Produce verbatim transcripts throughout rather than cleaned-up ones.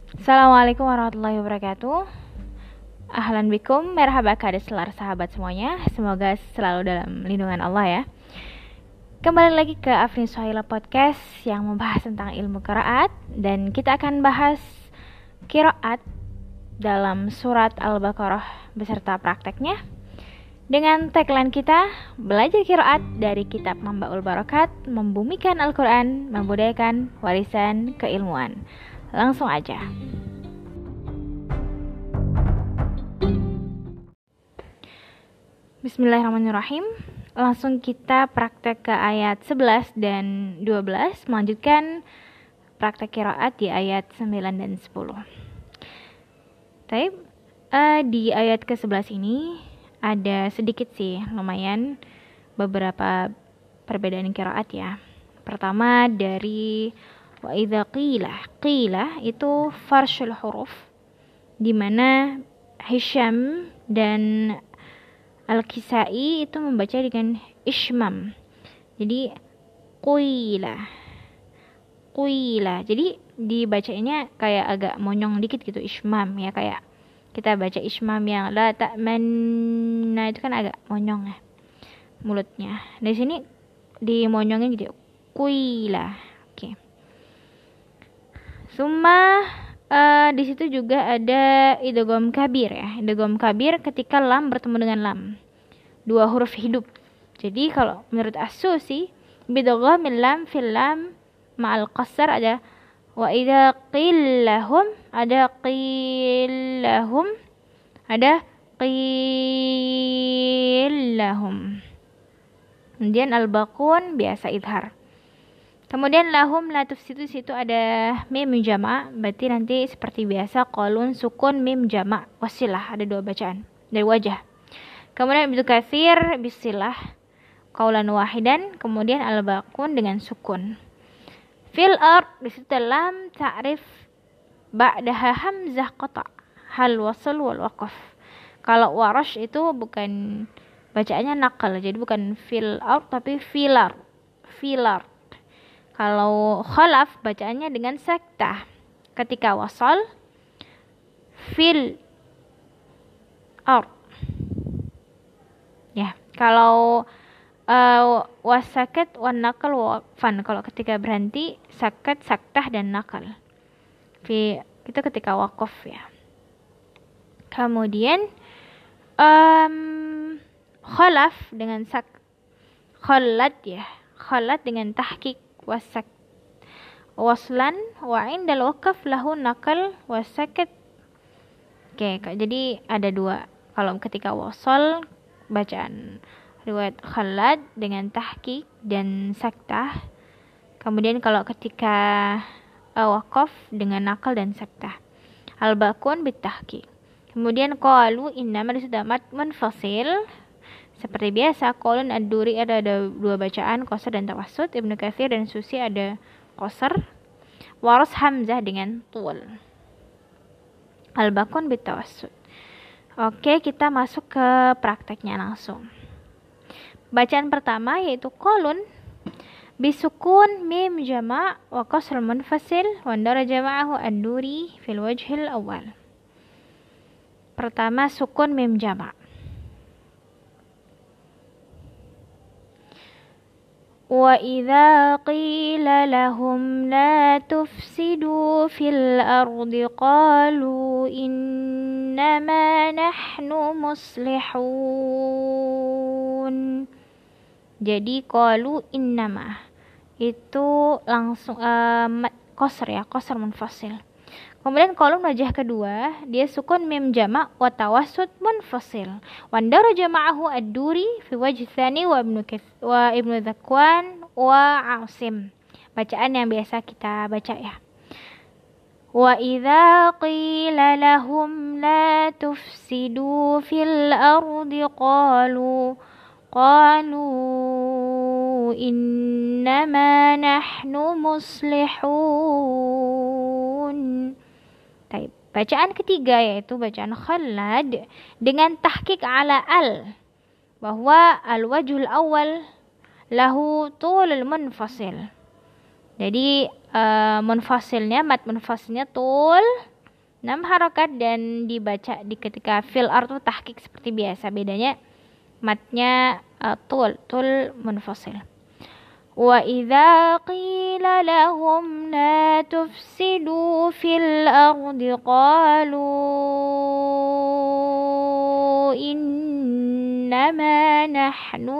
Assalamualaikum warahmatullahi wabarakatuh. Ahlan bikum, merhaba kadeselar sahabat semuanya. Semoga selalu dalam lindungan Allah ya. Kembali lagi ke Afni Suhaila Podcast yang membahas tentang ilmu qiraat. Dan kita akan bahas qiraat dalam surat Al-Baqarah beserta prakteknya. Dengan tagline kita, belajar qiraat dari kitab Mambaul Barakat, membumikan Al-Quran, membudayakan warisan keilmuan. Langsung aja. Bismillahirrahmanirrahim. Langsung kita praktek ke ayat sebelas dan dua belas, melanjutkan praktek qiraat di ayat sembilan dan sepuluh. Taib, uh, di ayat ke sebelas ini ada sedikit sih, lumayan beberapa perbedaan qiraat ya. Pertama dari wa idza qila, qila itu farshul huruf, di mana Hisham dan Al-Kisai itu membaca dengan ishmam. Jadi qila, qila. Jadi dibacanya kayak agak monyong dikit gitu, ishmam ya, kayak kita baca ishmam yang la ta'manna itu kan agak monyong ya mulutnya. Di sini dimonyongin gitu, qila. Oke. Okay. Summa uh, di situ juga ada idgham kabir ya. Idgham kabir ketika lam bertemu dengan lam. Dua huruf hidup. Jadi kalau menurut As-Susi, bidghamil lam fil lam ma'al qasar ada wa idza qillahum, ada qillahum, ada qillahum. Kemudian al-baqun biasa idhar. Kemudian lahum la tufsidu, situ ada mim jama', berarti nanti seperti biasa qalun sukun mim jama' wasilah, ada dua bacaan dari wajah. Kemudian Ibnu Katsir bisilah qaulan wahidan, kemudian al-baqun dengan sukun. Fil ard di situ lam ta'rif ba'daha hamzah qata' hal wasl wal waqaf. Kalau warash itu bukan bacaannya naqal, jadi bukan fil ard tapi filar. Filar. Kalau khalaf bacaannya dengan saktah. Ketika wasal fil ard. Ya, kalau uh, wasakat wan nakal waqfan, kalau ketika berhenti sakat, saktah dan nakal. Fi itu ketika waqaf ya. Kemudian um, khalaf dengan sak khalat ya. Khalat dengan tahqiq wasak waslan wa indal waqaf lahu nakal wasakat. Oke, jadi ada dua. Kalau ketika wasal bacaan riwayat khalad dengan tahqiq dan saktah. Kemudian kalau ketika uh, waqaf dengan nakal dan saktah. Al-baqun bitahqiq. Kemudian qalu innama disudamat munfasil. Seperti biasa, qaulun ad-duri ada, ada dua bacaan, qasar dan tawassut. Ibnu Katsir dan Susi ada qasar. Waras hamzah dengan tul. Al-baqun bitawassut. Oke, kita masuk ke prakteknya langsung. Bacaan pertama yaitu qaulun bisukun mim jama' wa qasr munfasil wa ndara jama'ahu ad-duri fil wajhil awal. Pertama sukun mim jama'. وَإِذَا قِيلَ لَهُمْ لَا تُفْسِدُوا فِي الْأَرْضِ قَالُوا إِنَّمَا نَحْنُ مُصْلِحُونَ. Jadi qalu innama itu langsung uh, qasr ya, qasr munfasil. Kemudian kolom wajah kedua dia sukun mim jama' wa tawassut munfasil. Wa ndara jama'ahu ad-duri fi wajh tsani wa ibnu wa ibnu Zakwan wa Asim. Bacaan yang biasa kita baca ya. Wa idza qila lahum la tufsidu fil ardi qalu qalu innama nahnu muslihun. Baik, bacaan ketiga yaitu bacaan khalad dengan tahqiq ala al, bahwa al-wajhul awal lahu tulul munfasil. Jadi uh, munfasilnya, mat munfasilnya tul, enam harokat dan dibaca di ketika fil artu tahqiq seperti biasa. Bedanya matnya uh, tul tul munfasil. Wa idza qila lahum la tufsidu fil ardi qalu innama nahnu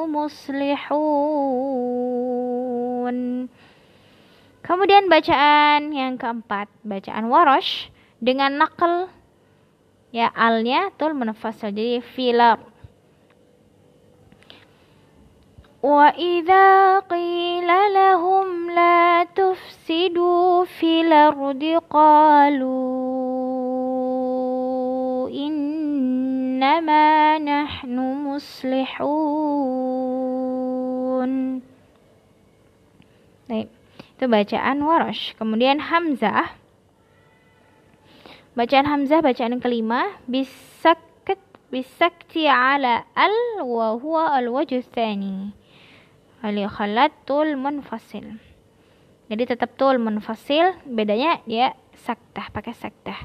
muslihun. Kemudian bacaan yang keempat, bacaan Warash dengan naql ya alnya tul munfasil jadi filar. Wa idza qila lahum la tufsidu fil ardi qalu innama nahnu muslihun. Baik, itu bacaan Warash. Kemudian Hamzah. Bacaan Hamzah bacaan yang kelima, bisakt bisakti ala al wa huwa al wajh tsani. Ali khalat tul munfasil. Jadi tetap tul munfasil, bedanya dia saktah, pakai saktah.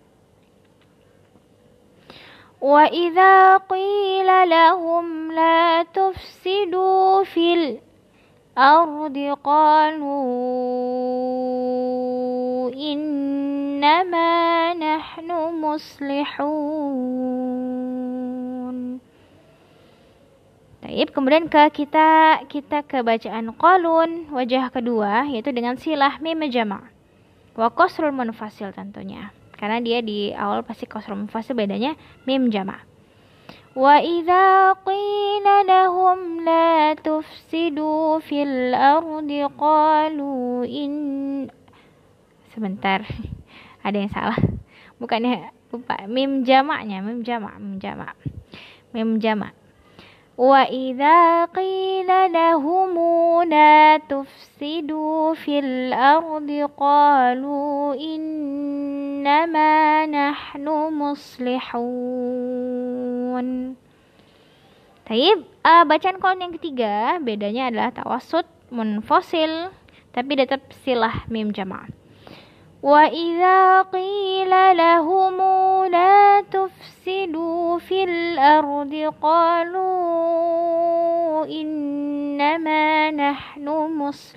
Wa idza qila lahum la tufsidu fil ardi qalu innama nahnu muslihun. Baik, kemudian ke kita kita ke bacaan qalun wajah kedua yaitu dengan silah mim jama' wa qasrul munfasil tentunya. Karena dia di awal pasti qasrul munfasil, bedanya mim jama'. Wa idza qila lahum la tufsidu fil ardi qalu in sebentar ada yang salah, bukannya lupa mim jamaknya, mim jamak mim jamak mim jamak. Wa idza qila lahum la tufsidu fil ardi qalu innama nahnu muslihun. Taib, uh, bacaan qalun yang ketiga bedanya adalah tawassut munfasil tapi tetap silah mim jamak. Wa idza qila lahum la tufsidu fil ardi qalu innama nahnu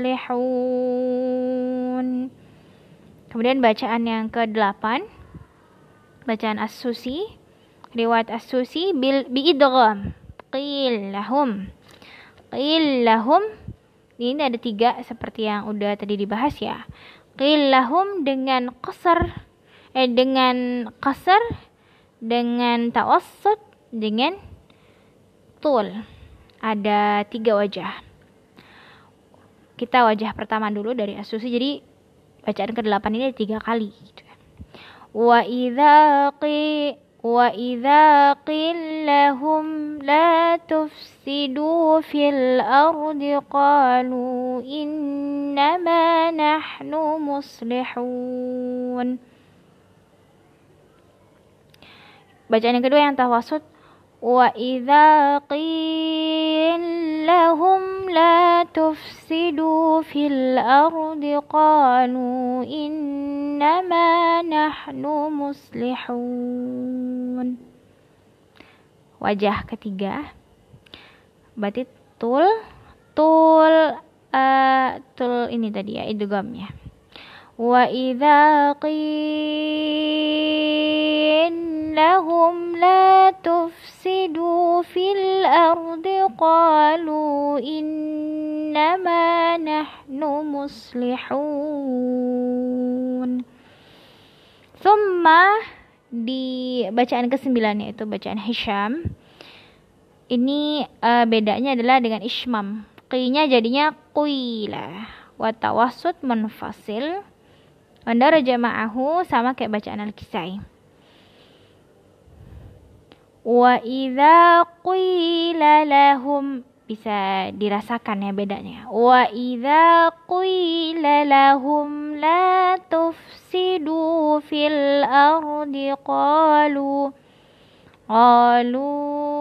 muslihun. Kemudian bacaan yang kedelapan, bacaan As-Susi, riwayat As-Susi bil biidgham qil lahum qil lahum. Ini ada tiga seperti yang udah tadi dibahas ya. Qil lahum dengan qasar eh dengan qasar, dengan tawassut, dengan tul. Ada tiga wajah. Kita wajah pertama dulu dari As-Susi. Jadi bacaan kedelapan ini ada tiga kali gitu. Wa idza qi wa idza qil lahum la tufsidu fil ardi qalu innama nahnu muslihun. Bacaan yang kedua yang tawassut, wa idza qil lahum la tufsidu fil ardi qalu innama nahnu muslihun. Wajah ketiga berarti tul tul uh, tul ini tadi ya idghamnya. Wa idza qil lahum la tufsidu fil ardi qalu innama nahnu muslihun. Thumma di bacaan kesembilan yaitu bacaan Hisham. Ini uh, bedanya adalah dengan ismam. Qi-nya jadinya qila wa tawassut munfasil. Anda jama'ahu sama kayak bacaan Al-Kisai. Wa idza qila lahum, bisa dirasakan ya bedanya. Wa idza qila lahum la tufsidu fil ardi qalu qalu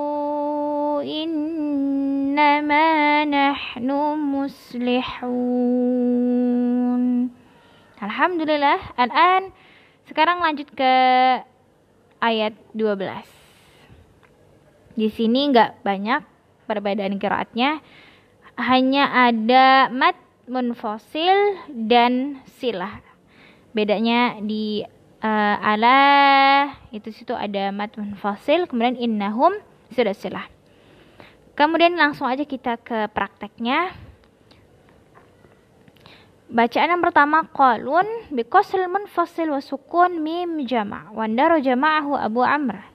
innama nahnu muslihun. Alhamdulillah, al-an Sekarang lanjut ke ayat dua belas. Di sini nggak banyak perbedaan qiraatnya, hanya ada mad munfasil dan silah. Bedanya di uh, ala itu situ ada mad munfasil, kemudian innahum sudah silah. Kemudian langsung aja kita ke prakteknya. Bacaan yang pertama, qalun biqasril munfasil wa sukun mim jama' wa ndaro jama'ahu Abu Amr.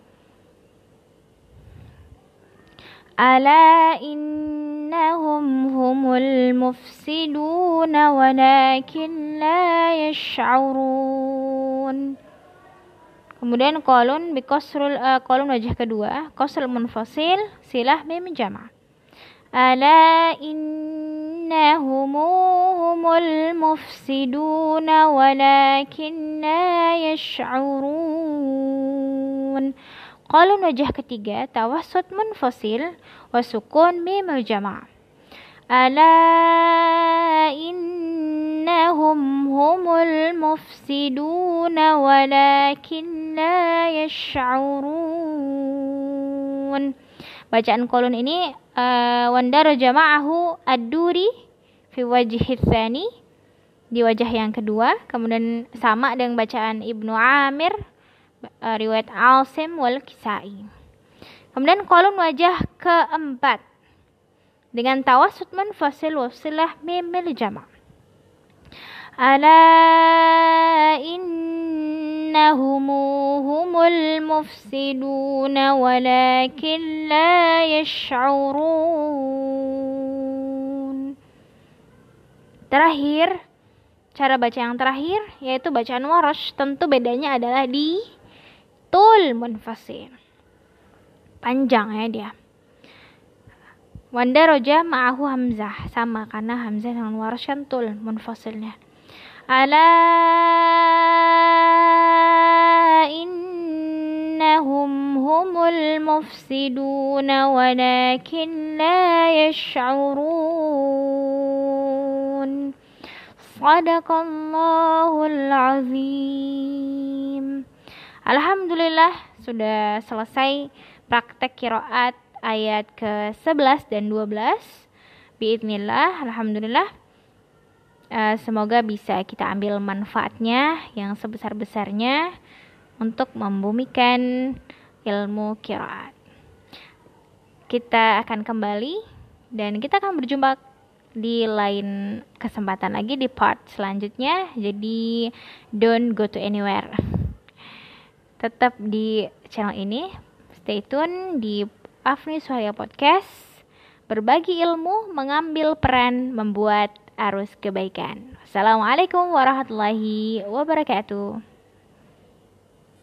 Ala innahum humul mufsiduna walakin la yash'urun. Kemudian qalun biqasril uh, qalun wajah kedua, qasrul munfasil silah mim jama'. Ala innahum humul mufsiduna walakin la yash'urun. Qalun wajah ketiga, tawassut munfasil wa sukun mim jama'. Ala innahum humul mufsiduna walakin la yash'urun. Bacaan qalun ini uh, wandaro jama'ahu ad-duri fi wajhi tsani, di wajah yang kedua. Kemudian sama dengan bacaan Ibnu Amir, uh, riwayat Asim wal Kisai. Kemudian qalun wajah keempat dengan tawassut munfasil wasilah mim jama'. Ala innahum humul mufsiduna walakin la yash'urun. Terakhir, cara baca yang terakhir yaitu bacaan Warash. Tentu bedanya adalah di tul munfasil, panjang ya dia. Wanda roja ma'ahu hamzah, sama karena hamzah dengan Warash kan tul munfasilnya. Ala innahum humul mufsiduna walakin la yash'urun. Sadaqallahul azim. Alhamdulillah sudah selesai praktek qiraat ayat ke sebelas dan dua belas. Biidznillah, alhamdulillah. Uh, semoga bisa kita ambil manfaatnya yang sebesar-besarnya untuk membumikan ilmu qiraat. Kita akan kembali dan kita akan berjumpa di lain kesempatan lagi di part selanjutnya. Jadi don't go to anywhere. Tetap di channel ini. Stay tune di Afni Suhaya Podcast. Berbagi ilmu, mengambil peran, membuat arus kebaikan. Assalamualaikum warahmatullahi wabarakatuh.